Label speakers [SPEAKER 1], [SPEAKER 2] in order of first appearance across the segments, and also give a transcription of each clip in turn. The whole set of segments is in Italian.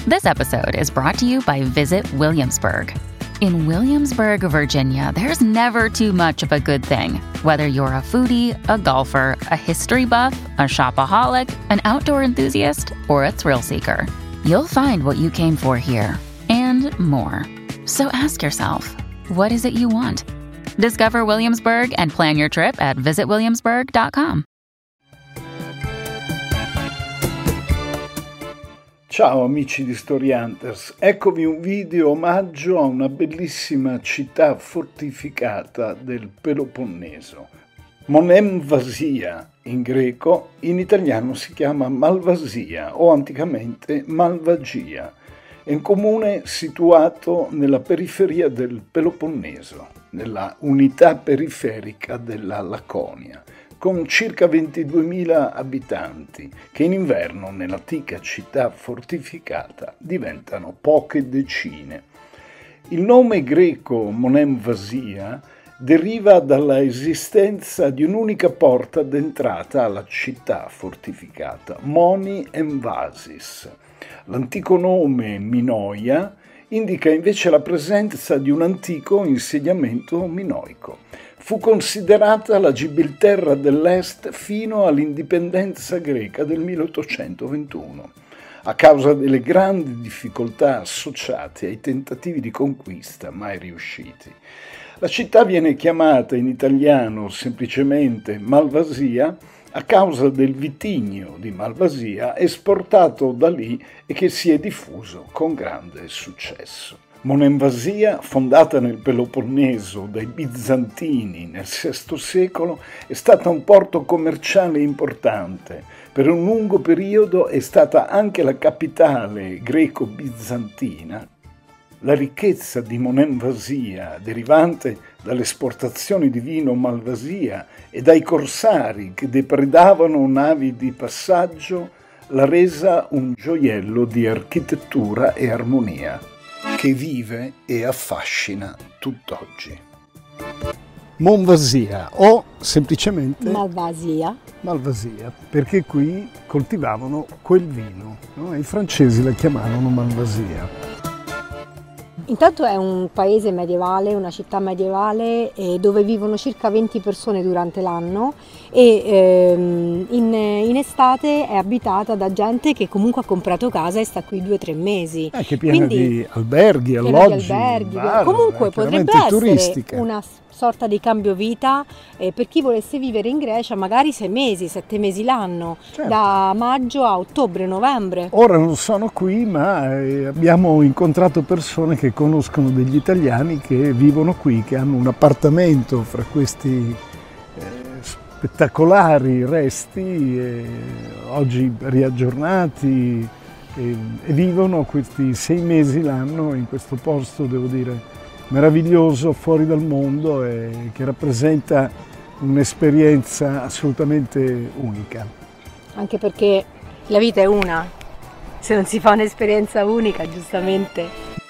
[SPEAKER 1] This episode is brought to you by Visit Williamsburg. In Williamsburg, Virginia, there's never too much of a good thing. Whether you're a foodie, a golfer, a history buff, a shopaholic, an outdoor enthusiast, or a thrill seeker, you'll find what you came for here and more. So ask yourself, what is it you want? Discover Williamsburg and plan your trip at visitwilliamsburg.com.
[SPEAKER 2] Ciao amici di Story Hunters, eccovi un video omaggio a una bellissima città fortificata del Peloponneso. Monemvasia in greco, in italiano si chiama Malvasia o anticamente Malvagia. È un comune situato nella periferia del Peloponneso, nella unità periferica della Laconia, con circa 22.000 abitanti, che in inverno nell'antica città fortificata diventano poche decine. Il nome greco Monemvasia deriva dalla esistenza di un'unica porta d'entrata alla città fortificata, Moni Emvasis. L'antico nome Minoia indica invece la presenza di un antico insediamento minoico. Fu considerata la Gibilterra dell'Est fino all'indipendenza greca del 1821, a causa delle grandi difficoltà associate ai tentativi di conquista mai riusciti. La città viene chiamata in italiano semplicemente Malvasia a causa del vitigno di Malvasia esportato da lì e che si è diffuso con grande successo. Monemvasia, fondata nel Peloponneso dai Bizantini nel VI secolo, è stata un porto commerciale importante. Per un lungo periodo è stata anche la capitale greco-bizantina. La ricchezza di Monemvasia, derivante dalle esportazioni di vino Malvasia e dai corsari che depredavano navi di passaggio, l'ha resa un gioiello di architettura e armonia, che vive e affascina tutt'oggi. Monvasia o semplicemente
[SPEAKER 3] Malvasia,
[SPEAKER 2] perché qui coltivavano quel vino, no? I francesi la chiamavano Malvasia.
[SPEAKER 3] Intanto è un paese medievale, una città medievale dove vivono circa 20 persone durante l'anno e in estate è abitata da gente che comunque ha comprato casa e sta qui 2 o 3 mesi.
[SPEAKER 2] Che piena di alberghi, alloggi, bar,
[SPEAKER 3] comunque potrebbe essere
[SPEAKER 2] turistica.
[SPEAKER 3] Una sorta di cambio vita per chi volesse vivere in Grecia magari 6 mesi, 7 mesi l'anno, certo. Da maggio a ottobre, novembre.
[SPEAKER 2] Ora non sono qui, ma abbiamo incontrato persone che conoscono degli italiani che vivono qui, che hanno un appartamento fra questi spettacolari resti, oggi riaggiornati, e vivono questi 6 mesi l'anno in questo posto, devo dire, meraviglioso, fuori dal mondo e che rappresenta un'esperienza assolutamente unica.
[SPEAKER 3] Anche perché la vita è una, se non si fa un'esperienza unica, giustamente.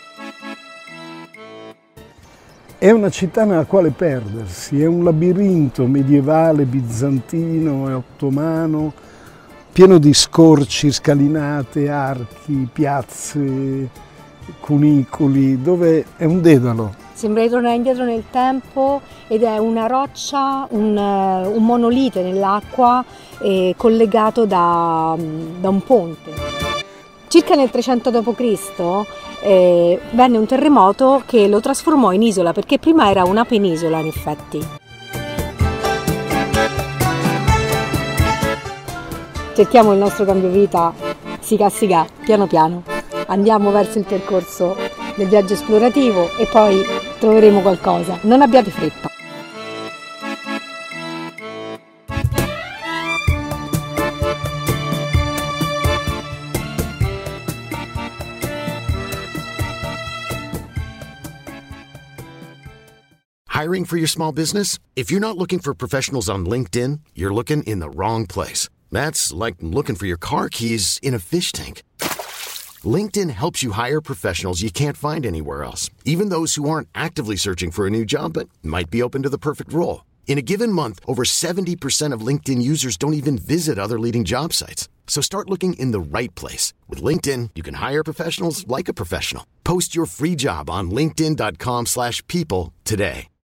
[SPEAKER 2] È una città nella quale perdersi, è un labirinto medievale, bizantino e ottomano, pieno di scorci, scalinate, archi, piazze, cunicoli, dove è un dedalo.
[SPEAKER 3] Sembra di tornare indietro nel tempo ed è una roccia, un monolite nell'acqua collegato da un ponte. Circa nel 300 d.C. Venne un terremoto che lo trasformò in isola, perché prima era una penisola in effetti. Cerchiamo il nostro cambio vita, siga, piano piano. Andiamo verso il percorso del viaggio esplorativo e poi troveremo qualcosa. Non abbiate fretta.
[SPEAKER 4] Hiring for your small business? If you're not looking for professionals on LinkedIn, you're looking in the wrong place. That's like looking for your car keys in a fish tank. LinkedIn helps you hire professionals you can't find anywhere else, even those who aren't actively searching for a new job but might be open to the perfect role. In a given month, over 70% of LinkedIn users don't even visit other leading job sites. So start looking in the right place. With LinkedIn, you can hire professionals like a professional. Post your free job on linkedin.com/people today.